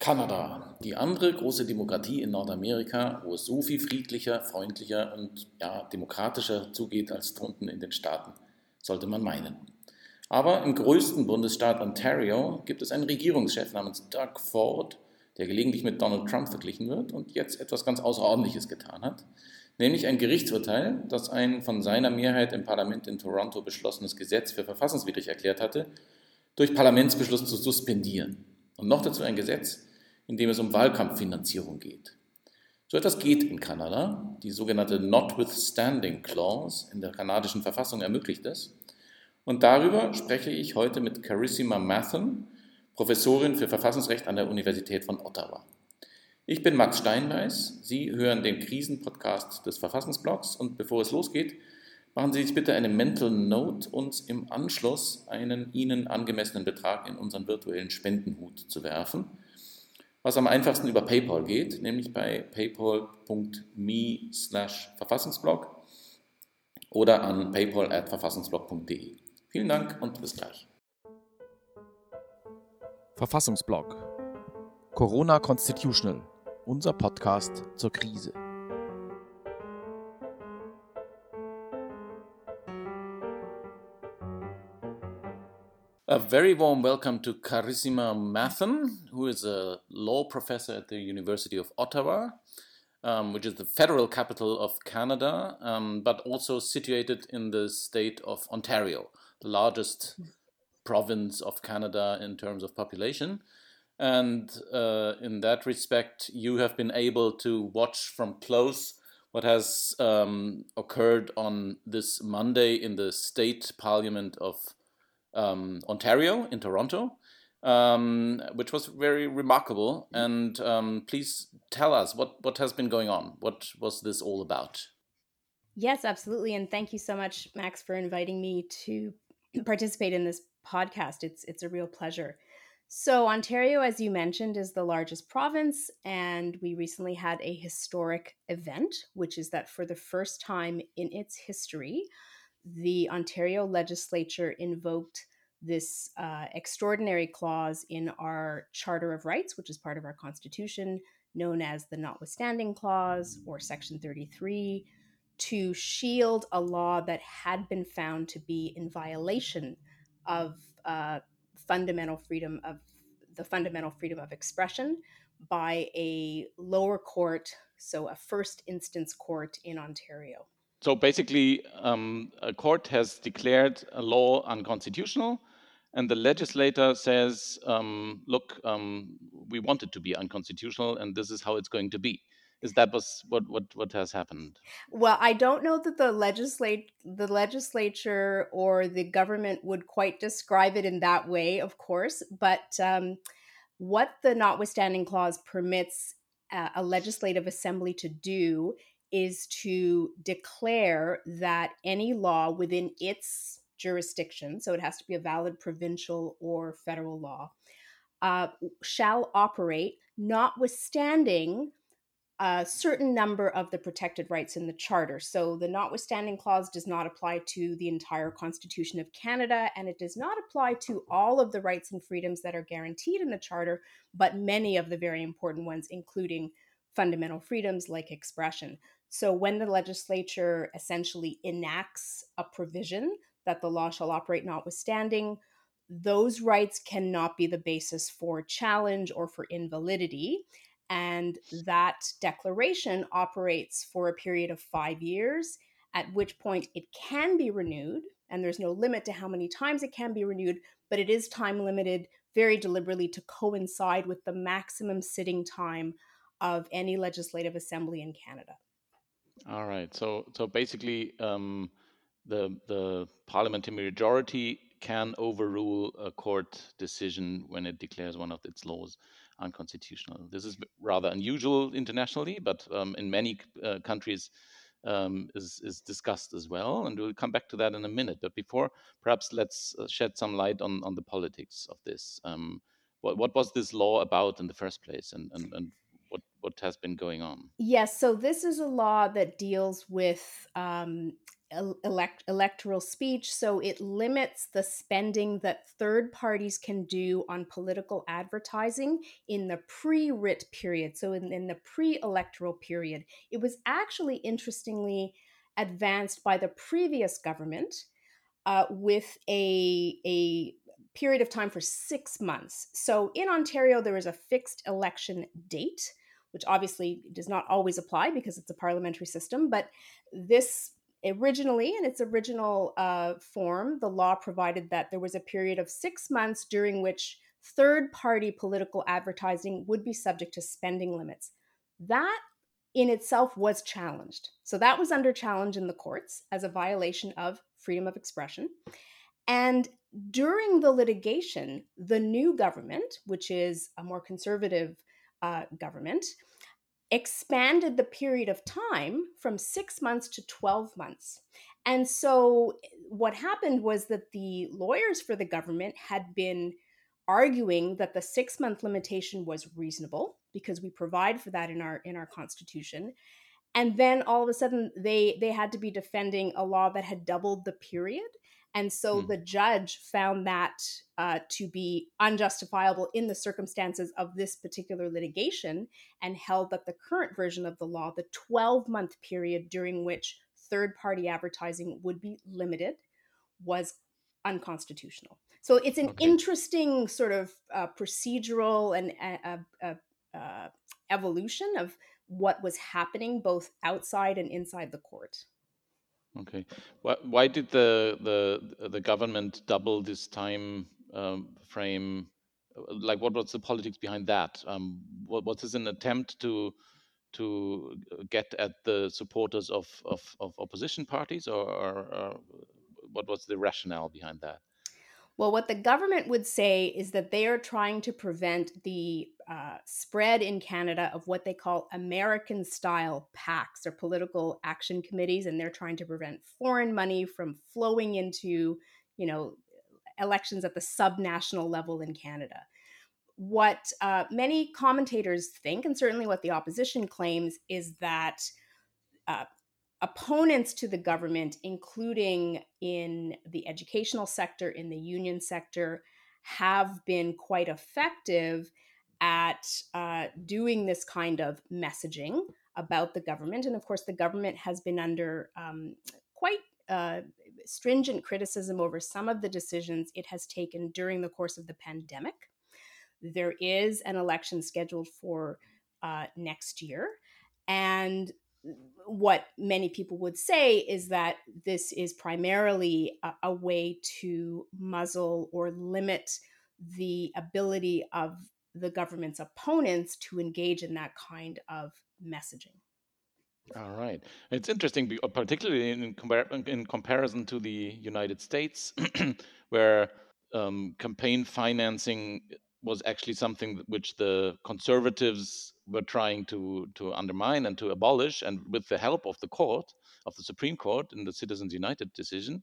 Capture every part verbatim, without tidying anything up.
Kanada, die andere große Demokratie in Nordamerika, wo es so viel friedlicher, freundlicher und ja, demokratischer zugeht als drunten in den Staaten, sollte man meinen. Aber im größten Bundesstaat Ontario gibt es einen Regierungschef namens Doug Ford, der gelegentlich mit Donald Trump verglichen wird und jetzt etwas ganz Außerordentliches getan hat, nämlich ein Gerichtsurteil, das ein von seiner Mehrheit im Parlament in Toronto beschlossenes Gesetz für verfassungswidrig erklärt hatte, durch Parlamentsbeschluss zu suspendieren. Und noch dazu ein Gesetz, in dem es um Wahlkampffinanzierung geht. So etwas geht in Kanada. Die sogenannte Notwithstanding Clause in der kanadischen Verfassung ermöglicht es. Und darüber spreche ich heute mit Carissima Mathen, Professorin für Verfassungsrecht an der Universität von Ottawa. Ich bin Max Steinbeiß, Sie hören den Krisenpodcast des Verfassungsblogs und bevor es losgeht, machen Sie sich bitte eine Mental Note, uns im Anschluss einen Ihnen angemessenen Betrag in unseren virtuellen Spendenhut zu werfen, was am einfachsten über PayPal geht, nämlich bei paypal.me slash Verfassungsblog oder an paypal at verfassungsblog punkt de. Vielen Dank und bis gleich. Verfassungsblog Corona Constitutional, unser Podcast zur Krise. A very warm welcome to Carissima Mathen, who is a law professor at the University of Ottawa, um, which is the federal capital of Canada, um, but also situated in the state of Ontario, the largest province of Canada in terms of population. And uh, in that respect, you have been able to watch from close what has um, occurred on this Monday in the state parliament of um, Ontario in Toronto, um, which was very remarkable. And um, please tell us what, what has been going on. What was this all about? Yes, absolutely. And thank you so much, Max, for inviting me to participate in this podcast. It's it's a real pleasure. So Ontario, as you mentioned, is the largest province, and we recently had a historic event, which is that for the first time in its history, the Ontario legislature invoked this uh, extraordinary clause in our Charter of Rights, which is part of our Constitution, known as the Notwithstanding Clause or Section thirty-three, to shield a law that had been found to be in violation of uh, fundamental freedom of the fundamental freedom of expression by a lower court, so a first instance court in Ontario. So basically, um, a court has declared a law unconstitutional, and the legislator says, um, look, um, we want it to be unconstitutional, and this is how it's going to be. Is that was what, what, what has happened? Well, I don't know that the legislate the legislature or the government would quite describe it in that way, of course, but um, what the Notwithstanding Clause permits uh, a legislative assembly to do is to declare that any law within its jurisdiction, so it has to be a valid provincial or federal law, uh, shall operate notwithstanding a certain number of the protected rights in the Charter. So the Notwithstanding Clause does not apply to the entire Constitution of Canada, and it does not apply to all of the rights and freedoms that are guaranteed in the Charter, but many of the very important ones, including fundamental freedoms like expression. So when the legislature essentially enacts a provision that the law shall operate notwithstanding, those rights cannot be the basis for challenge or for invalidity. And that declaration operates for a period of five years, at which point it can be renewed. And there's no limit to how many times it can be renewed, but it is time limited very deliberately to coincide with the maximum sitting time of any legislative assembly in Canada. All right. So so basically, um, the the parliamentary majority can overrule a court decision when it declares one of its laws unconstitutional. This is rather unusual internationally, but um, in many uh, countries um, is is discussed as well, and we'll come back to that in a minute. But before, perhaps let's uh, shed some light on on the politics of this. Um, what what was this law about in the first place, and and, and what what has been going on? Yes, so this is a law that deals with um, elect, electoral speech. So it limits the spending that third parties can do on political advertising in the pre-writ period. So in, in the pre-electoral period, it was actually interestingly advanced by the previous government uh, with a, a period of time for six months. So in Ontario, there is a fixed election date, which obviously does not always apply because it's a parliamentary system. But this originally, in its original uh, form, the law provided that there was a period of six months during which third-party political advertising would be subject to spending limits. That in itself was challenged. So that was under challenge in the courts as a violation of freedom of expression. And during the litigation, the new government, which is a more conservative uh, government, expanded the period of time from six months to twelve months. And so what happened was that the lawyers for the government had been arguing that the six-month limitation was reasonable because we provide for that in our in our constitution. And then all of a sudden they they had to be defending a law that had doubled the period. And so Hmm. the judge found that uh, to be unjustifiable in the circumstances of this particular litigation and held that the current version of the law, the twelve-month period during which third-party advertising would be limited, was unconstitutional. So it's an Okay. interesting sort of uh, procedural and uh, uh, uh, evolution of what was happening both outside and inside the court. Okay. Why, why did the the the government double this time um, frame? Like, what was the politics behind that? Um, what was this an attempt to to get at the supporters of of, of opposition parties, or, or, or what was the rationale behind that? Well, what the government would say is that they are trying to prevent the uh, spread in Canada of what they call American style PACs or political action committees. And they're trying to prevent foreign money from flowing into, you know, elections at the subnational level in Canada. What uh, many commentators think, and certainly what the opposition claims, is that uh, opponents to the government, including in the educational sector, in the union sector, have been quite effective at uh, doing this kind of messaging about the government. And of course, the government has been under um, quite uh, stringent criticism over some of the decisions it has taken during the course of the pandemic. There is an election scheduled for uh, next year. And what many people would say is that this is primarily a, a way to muzzle or limit the ability of the government's opponents to engage in that kind of messaging. All right. It's interesting, be- particularly in, compar- in comparison to the United States, where um, campaign financing was actually something which the conservatives were trying to to undermine and to abolish, and with the help of the court, of the Supreme Court, in the Citizens United decision.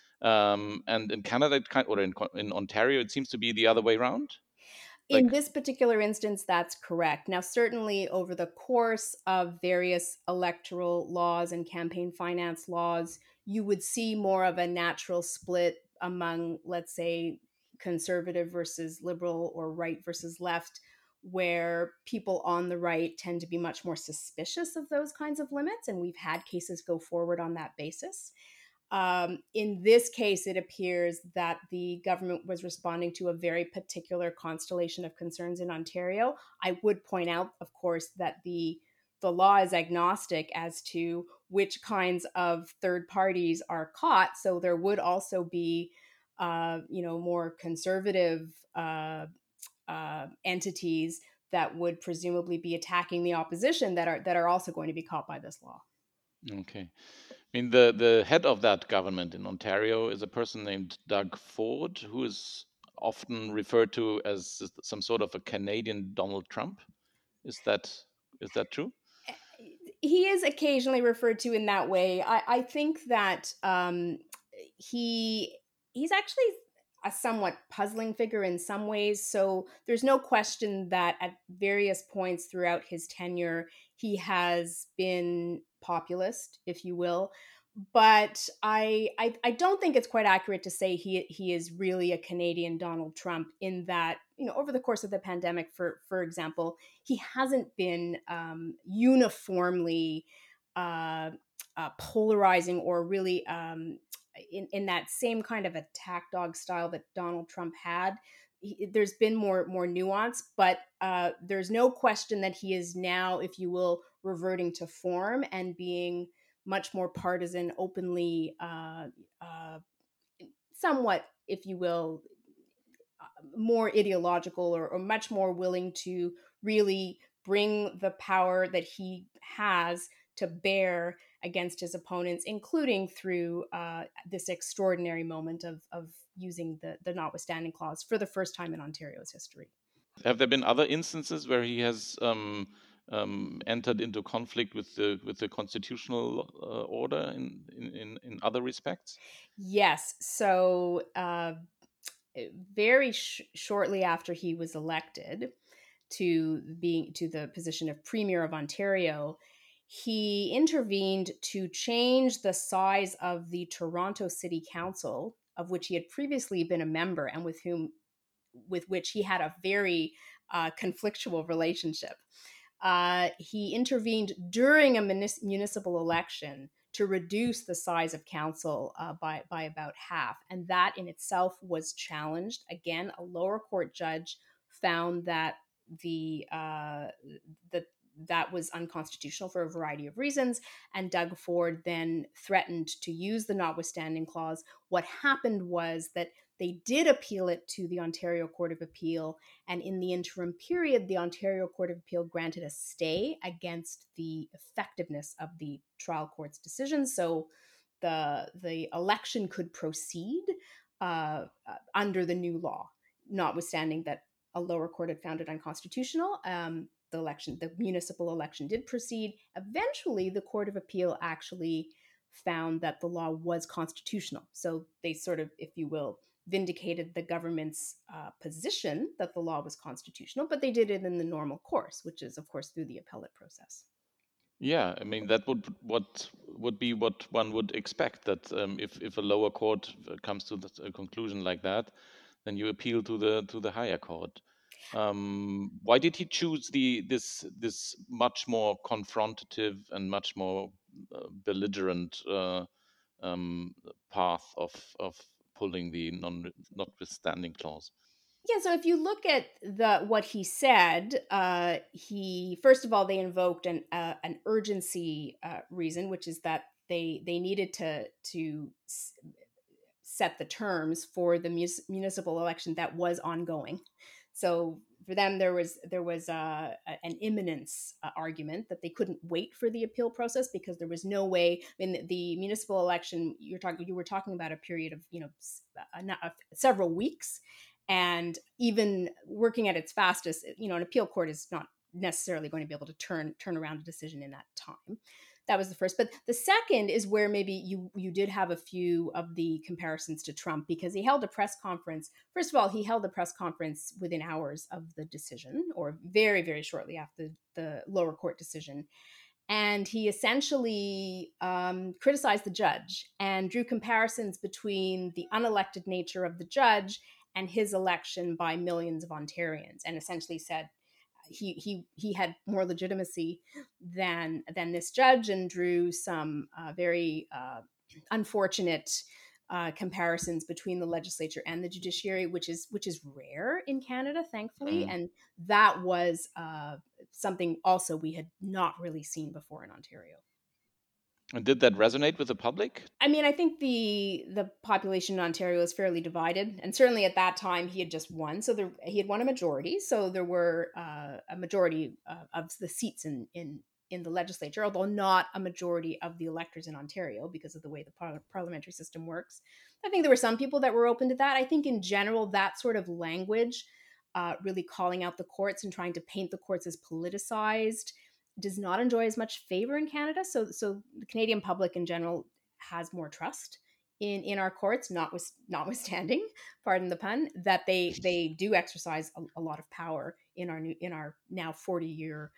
Um, and in Canada, it kind, or in Co- in Ontario, it seems to be the other way around. In Like, this particular instance, that's correct. Now, certainly over the course of various electoral laws and campaign finance laws, you would see more of a natural split among, let's say, conservative versus liberal or right versus left, where people on the right tend to be much more suspicious of those kinds of limits. And we've had cases go forward on that basis. Um, in this case, it appears that the government was responding to a very particular constellation of concerns in Ontario. I would point out, of course, that the the law is agnostic as to which kinds of third parties are caught. So there would also be, uh, you know, more conservative uh, uh, entities that would presumably be attacking the opposition that are that are also going to be caught by this law. okay. I mean, the, the head of that government in Ontario is a person named Doug Ford, who is often referred to as some sort of a Canadian Donald Trump. Is that is that true? He is occasionally referred to in that way. I, I think that um, he he's actually a somewhat puzzling figure in some ways. So there's no question that at various points throughout his tenure, he has been populist, if you will. but I, I I don't think it's quite accurate to say he he is really a Canadian Donald Trump, in that, you know, over the course of the pandemic, for for example, he hasn't been um, uniformly uh, uh, polarizing, or really um, in in that same kind of attack dog style that Donald Trump had. He, there's been more more nuance, but uh, there's no question that he is now, if you will, reverting to form and being much more partisan, openly, uh, uh, somewhat, if you will, more ideological, or, or much more willing to really bring the power that he has to bear against his opponents, including through uh, this extraordinary moment of, of using the, the notwithstanding clause for the first time in Ontario's history. Have there been other instances where he has um, um, entered into conflict with the with the constitutional uh, order in, in in other respects? Yes. So uh, very sh- shortly after he was elected to being to the position of Premier of Ontario, he intervened to change the size of the Toronto City Council, of which he had previously been a member and with whom with which he had a very uh, conflictual relationship. Uh, he intervened during a munis- municipal election to reduce the size of council uh, by, by about half. And that in itself was challenged. Again, a lower court judge found that the uh, that that was unconstitutional for a variety of reasons. And Doug Ford then threatened to use the notwithstanding clause. What happened was that they did appeal it to the Ontario Court of Appeal. And in the interim period, the Ontario Court of Appeal granted a stay against the effectiveness of the trial court's decision. So the, the election could proceed uh, uh, under the new law, notwithstanding that a lower court had found it unconstitutional. Um, the election, the municipal election did proceed. Eventually, the Court of Appeal actually found that the law was constitutional. So they sort of, if you will, vindicated the government's uh, position that the law was constitutional, but they did it in the normal course, which is, of course, through the appellate process. Yeah, I mean that would what would be what one would expect, that um, if if a lower court comes to the, a conclusion like that, then you appeal to the to the higher court. Um, why did he choose the this this much more confrontative and much more uh, belligerent uh, um, path of of pulling the non notwithstanding clause? Yeah, so if you look at the what he said, uh, he first of all they invoked an uh, an urgency uh, reason, which is that they they needed to to s- set the terms for the mus- municipal election that was ongoing. So for them, there was there was uh, an imminence uh, argument that they couldn't wait for the appeal process, because there was no way. I mean, the, the municipal election you're talking you were talking about a period of you know a, a, several weeks, and even working at its fastest, you know, an appeal court is not necessarily going to be able to turn turn around a decision in that time. That was the first. But the second is where maybe you you did have a few of the comparisons to Trump, because he held a press conference. First of all, he held a press conference within hours of the decision, or very, very shortly after the lower court decision. And he essentially um, criticized the judge and drew comparisons between the unelected nature of the judge and his election by millions of Ontarians, and essentially said he he he had more legitimacy than than this judge, and drew some uh, very uh, unfortunate uh, comparisons between the legislature and the judiciary, which is which is rare in Canada, thankfully, Mm. and that was uh, something also we had not really seen before in Ontario. And did that resonate with the public? I mean, I think the the population in Ontario is fairly divided, and certainly at that time he had just won, so there, he had won a majority. So there were uh, a majority uh, of the seats in in in the legislature, although not a majority of the electors in Ontario because of the way the par- parliamentary system works. I think there were some people that were open to that. I think in general that sort of language, uh, really calling out the courts and trying to paint the courts as politicized, does not enjoy as much favor in Canada. So, so the Canadian public in general has more trust in in our courts, notwith, notwithstanding, pardon the pun, that they they do exercise a, a lot of power in our new in our now forty year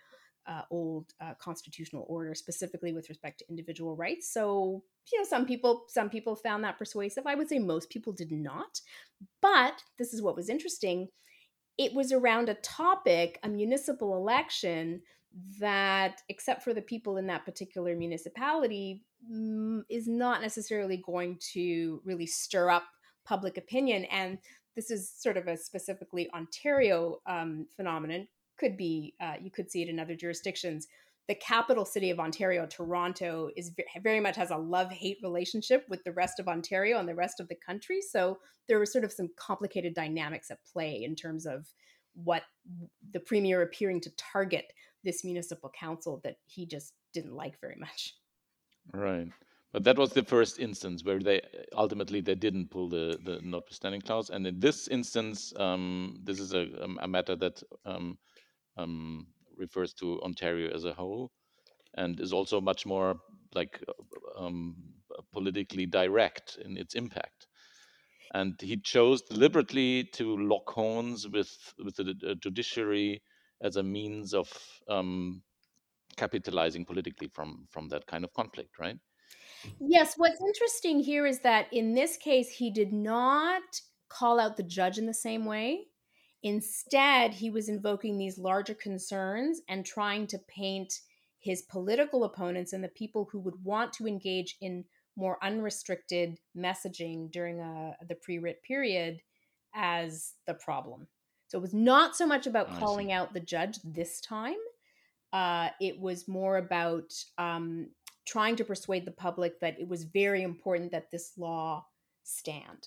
uh, old uh, constitutional order, specifically with respect to individual rights. So, you know, some people some people found that persuasive. I would say most people did not. But this is what was interesting. It was around a topic, a municipal election, that, except for the people in that particular municipality, mm, is not necessarily going to really stir up public opinion. And this is sort of a specifically Ontario um, phenomenon. Could be, uh, you could see it in other jurisdictions. The capital city of Ontario, Toronto, is ve- very much has a love-hate relationship with the rest of Ontario and the rest of the country. So there were sort of some complicated dynamics at play in terms of what the premier appearing to target this municipal council that he just didn't like very much. Right. But that was the first instance where they ultimately they didn't pull the, the notwithstanding clause. And in this instance, um, this is a, a matter that um, um, refers to Ontario as a whole and is also much more like um, politically direct in its impact. And he chose deliberately to lock horns with, with the uh, judiciary as a means of um, capitalizing politically from, from that kind of conflict, right? Yes, what's interesting here is that in this case, he did not call out the judge in the same way. Instead, he was invoking these larger concerns and trying to paint his political opponents and the people who would want to engage in more unrestricted messaging during a, the pre-writ period as the problem. So it was not so much about I calling see. out the judge this time. Uh, it was more about um, trying to persuade the public that it was very important that this law stand.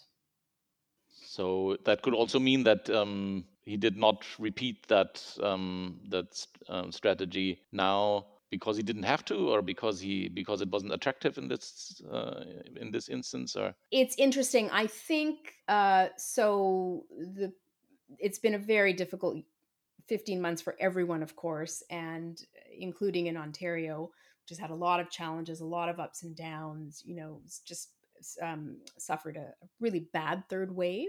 So that could also mean that um, he did not repeat that um, that um, strategy now because he didn't have to, or because he because it wasn't attractive in this uh, in this instance, or It's interesting. I think uh, so. The it's been a very difficult fifteen months for everyone, of course, and including in Ontario, which has had a lot of challenges, a lot of ups and downs. You know, it's just um, suffered a, a really bad third wave.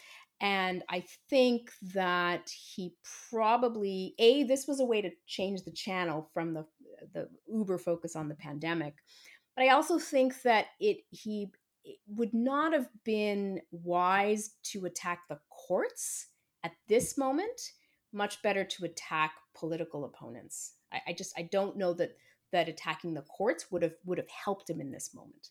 And I think that he probably, A, this was a way to change the channel from the, the uber focus on the pandemic. But I also think that it he it would not have been wise to attack the courts at this moment. Much better to attack political opponents. I, I just I don't know that that attacking the courts would have would have helped him in this moment.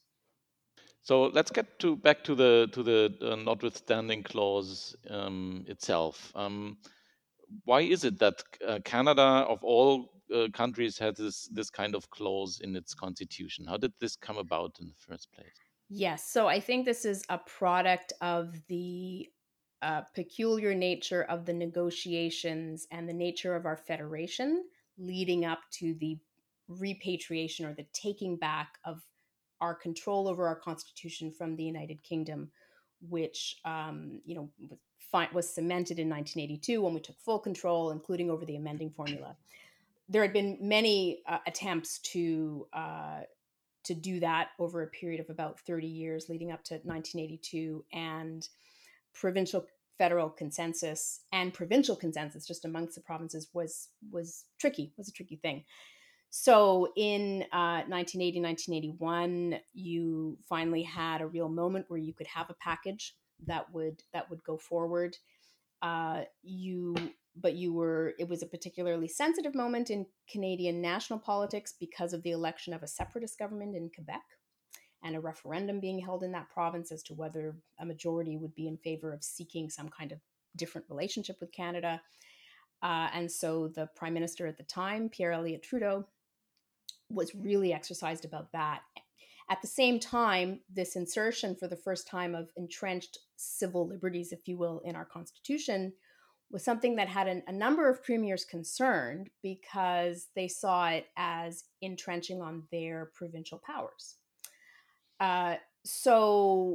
so let's get to back to the to the uh, notwithstanding clause um, itself. Um, why is it that uh, Canada, of all uh, countries, has this this kind of clause in its constitution? How did this come about in the first place? Yes, so I think this is a product of the uh, peculiar nature of the negotiations and the nature of our federation leading up to the repatriation or the taking back of our control over our constitution from the United Kingdom, which um, you know was, fi- was cemented in nineteen eighty-two when we took full control, including over the amending formula. There had been many uh, attempts to uh, to do that over a period of about thirty years leading up to nineteen eighty-two, and provincial federal consensus and provincial consensus just amongst the provinces was was tricky, was a tricky thing. So in uh, nineteen eighty, nineteen eighty-one, you finally had a real moment where you could have a package that would that would go forward. Uh, you but you were it was a particularly sensitive moment in Canadian national politics because of the election of a separatist government in Quebec and a referendum being held in that province as to whether a majority would be in favor of seeking some kind of different relationship with Canada. Uh, and so the prime minister at the time, Pierre Elliott Trudeau, was really exercised about that. At the same time, this insertion for the first time of entrenched civil liberties, if you will, in our Constitution was something that had an, a number of premiers concerned because they saw it as entrenching on their provincial powers. Uh, so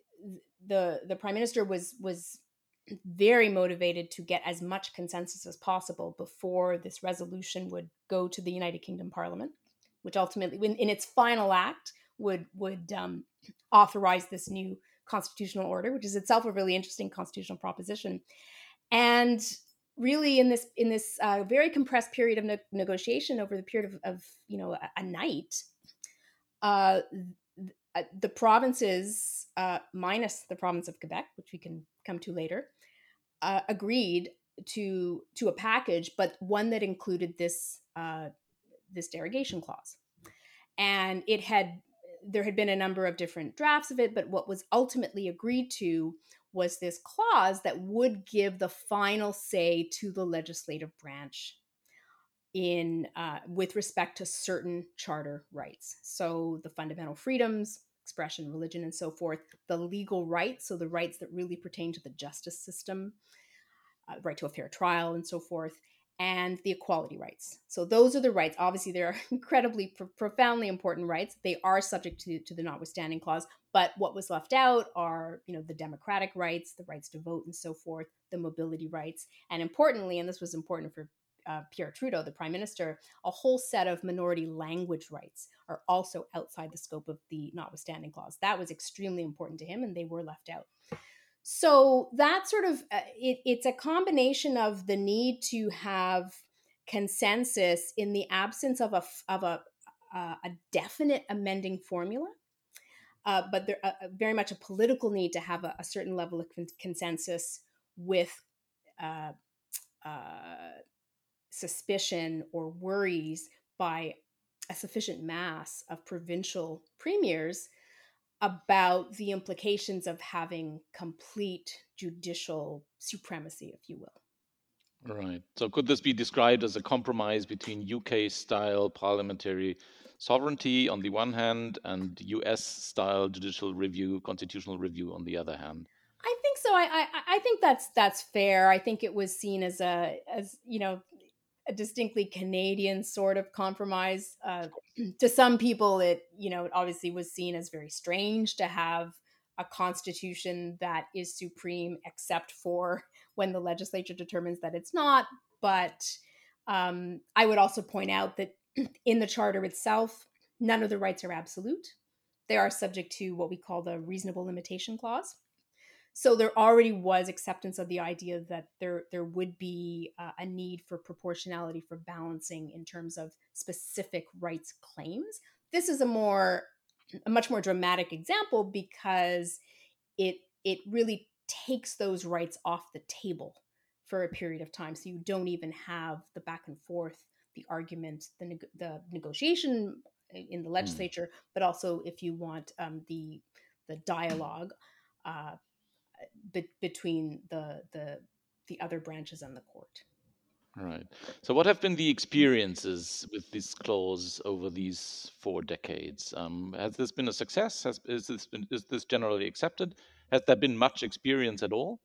the the prime minister was was very motivated to get as much consensus as possible before this resolution would go to the United Kingdom Parliament, which ultimately, in, in its final act, would would um, authorize this new constitutional order, which is itself a really interesting constitutional proposition. And really in this in this uh, very compressed period of ne- negotiation over the period of, of you know a, a night, uh, th- the provinces, uh, minus the province of Quebec, which we can come to later, uh, agreed to to a package, but one that included this uh, this derogation clause. And it had there had been a number of different drafts of it, but what was ultimately agreed to was this clause that would give the final say to the legislative branch in uh, with respect to certain charter rights. So the fundamental freedoms, expression, religion, and so forth, the legal rights, so the rights that really pertain to the justice system, uh, right to a fair trial and so forth, and the equality rights. So those are the rights. Obviously, they're incredibly, pro- profoundly important rights. They are subject to, to the notwithstanding clause. But what was left out are, you know, the democratic rights, the rights to vote and so forth, the mobility rights, and importantly, and this was important for uh, Pierre Trudeau, the prime minister, a whole set of minority language rights are also outside the scope of the notwithstanding clause. That was extremely important to him, and they were left out. So that sort of, uh, it, it's a combination of the need to have consensus in the absence of a, of a, uh, a definite amending formula, uh, but there uh, very much a political need to have a, a certain level of con- consensus with uh, uh, suspicion or worries by a sufficient mass of provincial premiers about the implications of having complete judicial supremacy, if you will. Right. So could this be described as a compromise between U K-style parliamentary sovereignty on the one hand and U S-style judicial review, constitutional review on the other hand? I think so. I, I I think that's that's fair. I think it was seen as a as you know a distinctly Canadian sort of compromise. Uh, to some people, it you know it obviously was seen as very strange to have a constitution that is supreme, except for when the legislature determines that it's not. But um, I would also point out that in the charter itself, none of the rights are absolute. They are subject to what we call the reasonable limitation clause. So there already was acceptance of the idea that there there would be uh, a need for proportionality, for balancing in terms of specific rights claims. This is a more a much more dramatic example because it it really takes those rights off the table for a period of time. So you don't even have the back and forth, the argument, the neg- the negotiation in the legislature, mm. but also if you want um, the the dialogue. Uh, Be- between the the the other branches and the court. Right. So, what have been the experiences with this clause over these four decades? Um, has this been a success? Has is this been is this generally accepted? Has there been much experience at all?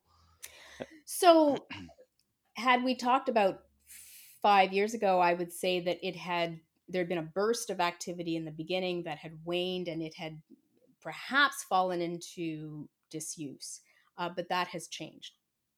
So, had we talked about five years ago, I would say that it had there had been a burst of activity in the beginning that had waned, and it had perhaps fallen into disuse. Uh, but that has changed.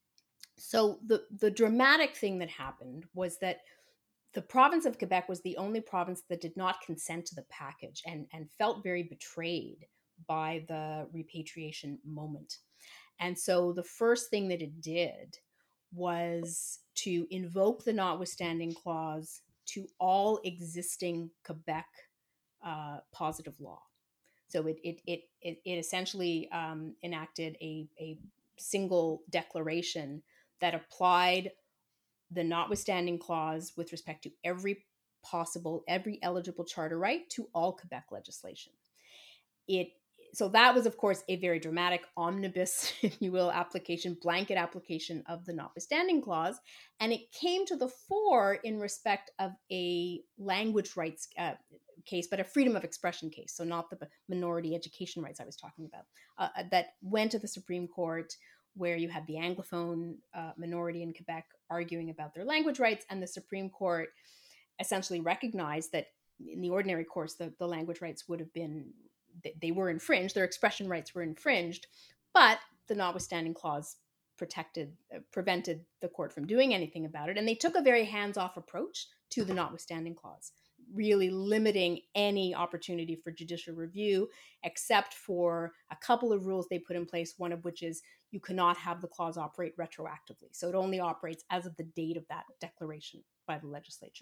So the the dramatic thing that happened was that the province of Quebec was the only province that did not consent to the package and, and felt very betrayed by the repatriation moment. And so the first thing that it did was to invoke the notwithstanding clause to all existing Quebec uh, positive law. So it it it it, it essentially um, enacted a, a single declaration that applied the notwithstanding clause with respect to every possible, every eligible charter right to all Quebec legislation. It so that was, of course, a very dramatic omnibus, if you will, application, blanket application of the notwithstanding clause, and it came to the fore in respect of a language rights uh, case, but a freedom of expression case, so not the minority education rights I was talking about, uh, that went to the Supreme Court, where you had the Anglophone uh, minority in Quebec arguing about their language rights, and the Supreme Court essentially recognized that in the ordinary course, the, the language rights would have been, they were infringed, their expression rights were infringed, but the notwithstanding clause protected, uh, prevented the court from doing anything about it. And they took a very hands-off approach to the notwithstanding clause. really limiting any opportunity for judicial review, except for a couple of rules they put in place, one of which is you cannot have the clause operate retroactively. So it only operates as of the date of that declaration by the legislature.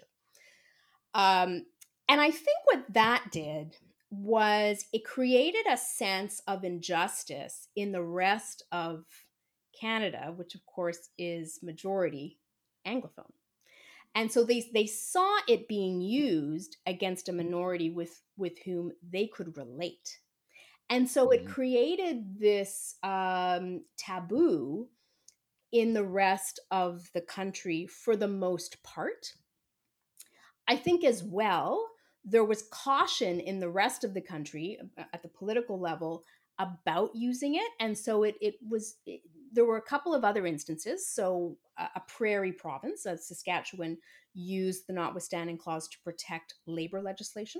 Um, and I think what that did was it created a sense of injustice in the rest of Canada, which of course is majority Anglophone. And so they, they saw it being used against a minority with, with whom they could relate. And so it created this um, taboo in the rest of the country for the most part. I think as well, there was caution in the rest of the country at the political level about using it. And so it, it was, it, there were a couple of other instances. So a, a prairie province of Saskatchewan used the notwithstanding clause to protect labor legislation.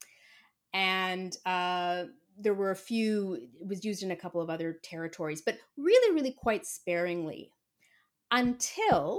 And uh, there were a few, it was used in a couple of other territories, but really, really quite sparingly until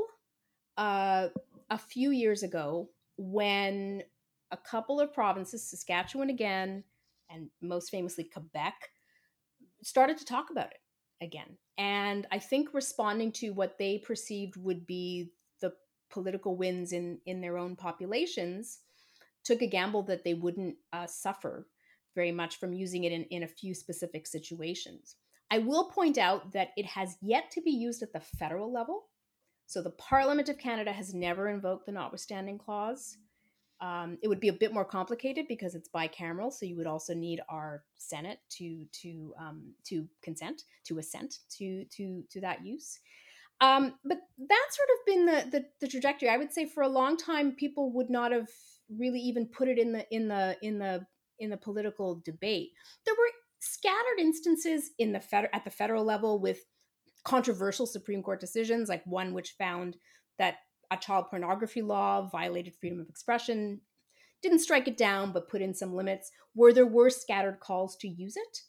uh, a few years ago when a couple of provinces, Saskatchewan again, and most famously Quebec, started to talk about it again. And I think responding to what they perceived would be the political wins in, in their own populations, took a gamble that they wouldn't uh, suffer very much from using it in, in a few specific situations. I will point out that it has yet to be used at the federal level. So the Parliament of Canada has never invoked the notwithstanding clause. Um, it would be a bit more complicated because it's bicameral, so you would also need our Senate to to um, to consent, to assent to to to that use. Um, but that's sort of been the, the the trajectory. I would say for a long time, people would not have really even put it in the in the in the in the political debate. There were scattered instances in the fed- at the federal level with controversial Supreme Court decisions, like one which found that a child pornography law violated freedom of expression, didn't strike it down, but put in some limits, where there were scattered calls to use it.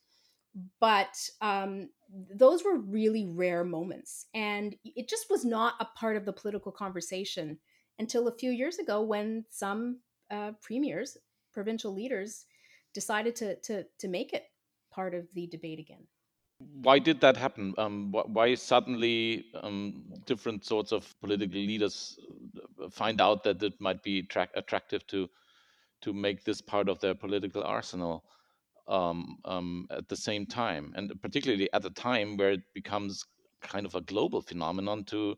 But um, those were really rare moments. And it just was not a part of the political conversation until a few years ago when some uh, premiers, provincial leaders, decided to, to, to make it part of the debate again. Why did that happen? Um, wh- why suddenly um, different sorts of political leaders uh, find out that it might be tra- attractive to to make this part of their political arsenal um, um, at the same time, and particularly at a time where it becomes kind of a global phenomenon to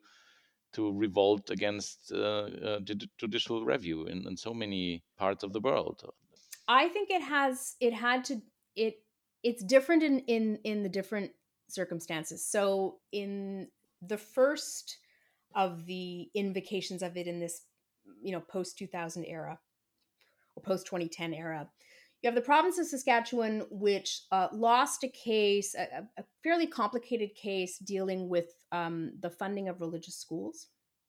to revolt against uh, uh, judi- judicial review in, in so many parts of the world? I think it has it had to it it's different in in in the different circumstances. So in the first of the invocations of it in this, you know, post two thousand era or post twenty ten era, you have the province of Saskatchewan, which uh, lost a case, a, a fairly complicated case dealing with um, the funding of religious schools,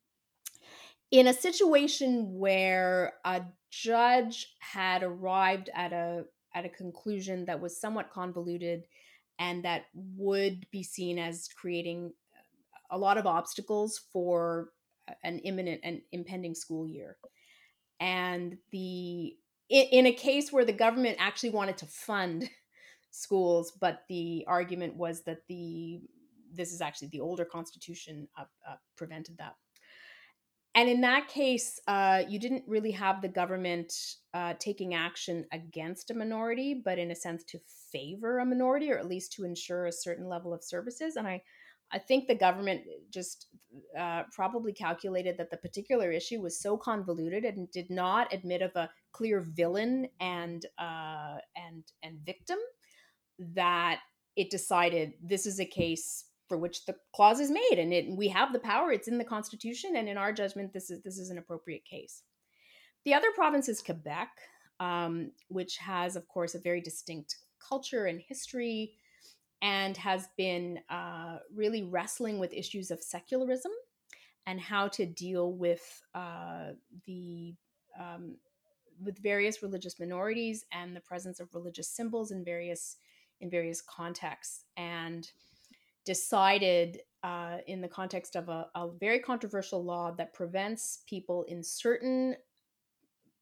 in a situation where a judge had arrived at a at a conclusion that was somewhat convoluted and that would be seen as creating a lot of obstacles for an imminent and impending school year. And the in, in a case where the government actually wanted to fund schools, but the argument was that the this is actually the older constitution uh, uh, prevented that. And in that case, uh, you didn't really have the government uh, taking action against a minority, but in a sense to favor a minority, or at least to ensure a certain level of services. And I, I think the government just uh, probably calculated that the particular issue was so convoluted and did not admit of a clear villain and uh, and and victim, that it decided this is a case for which the clause is made, and it, we have the power. It's in the Constitution, and in our judgment, this is this is an appropriate case. The other province is Quebec, um, which has, of course, a very distinct culture and history, and has been uh, really wrestling with issues of secularism and how to deal with uh, the um, with various religious minorities and the presence of religious symbols in various in various contexts, and decided uh, in the context of a, a very controversial law that prevents people in certain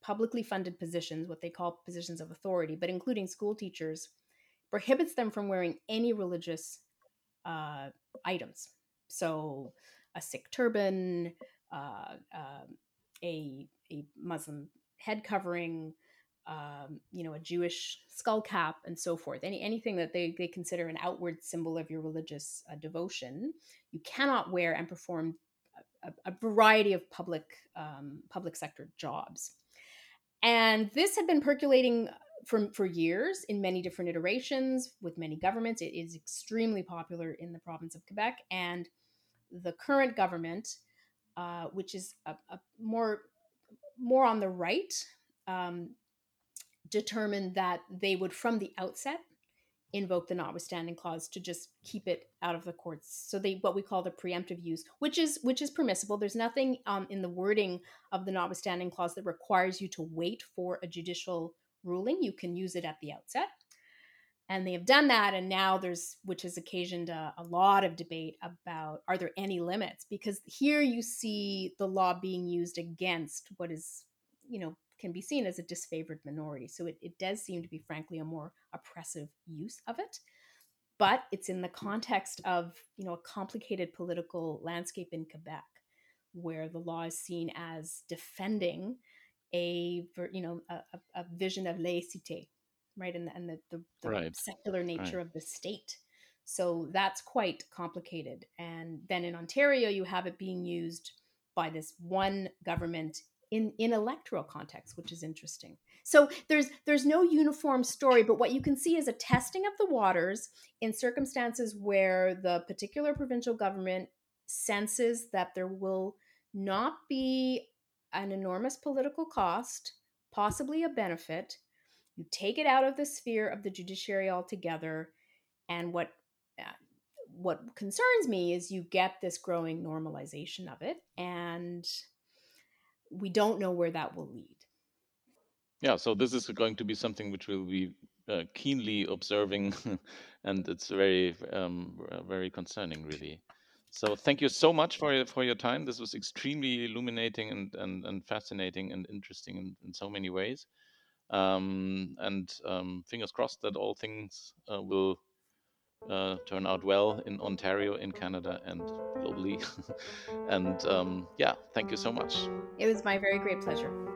publicly funded positions, what they call positions of authority, but including school teachers, prohibits them from wearing any religious uh, items. So a Sikh turban, uh, uh, a, a Muslim head covering, um, you know, a Jewish skull cap, and so forth. Any anything that they, they consider an outward symbol of your religious uh, devotion, you cannot wear and perform a, a variety of public um, public sector jobs. And this had been percolating for, for years in many different iterations with many governments. It is extremely popular in the province of Quebec. And the current government, uh, which is a, a more, more on the right, um, determined that they would, from the outset, invoke the notwithstanding clause to just keep it out of the courts. So they, what we call the preemptive use, which is which is permissible. There's nothing um, in the wording of the notwithstanding clause that requires you to wait for a judicial ruling. You can use it at the outset. And they have done that. And now there's, which has occasioned a, a lot of debate about, are there any limits? Because here you see the law being used against what is, you know, can be seen as a disfavored minority. So it, it does seem to be, frankly, a more oppressive use of it. But it's in the context of, you know, a complicated political landscape in Quebec, where the law is seen as defending a, you know, a, a vision of laïcité, right? And, and the, the, the Right. secular nature Right. of the state. So that's quite complicated. And then in Ontario, you have it being used by this one government in, in electoral context, which is interesting. So there's there's no uniform story, but what you can see is a testing of the waters in circumstances where the particular provincial government senses that there will not be an enormous political cost, possibly a benefit. You take it out of the sphere of the judiciary altogether, and what uh, what concerns me is you get this growing normalization of it, and we don't know where that will lead. Yeah, so this is going to be something which we'll be uh, keenly observing, and it's very, um, uh, very concerning, really. So thank you so much for your for your time. This was extremely illuminating and and, and fascinating and interesting in, in so many ways. Um, and um, fingers crossed that all things uh, will uh, turn out well in Ontario, in Canada, and globally. and um, yeah, thank you so much. It was my very great pleasure.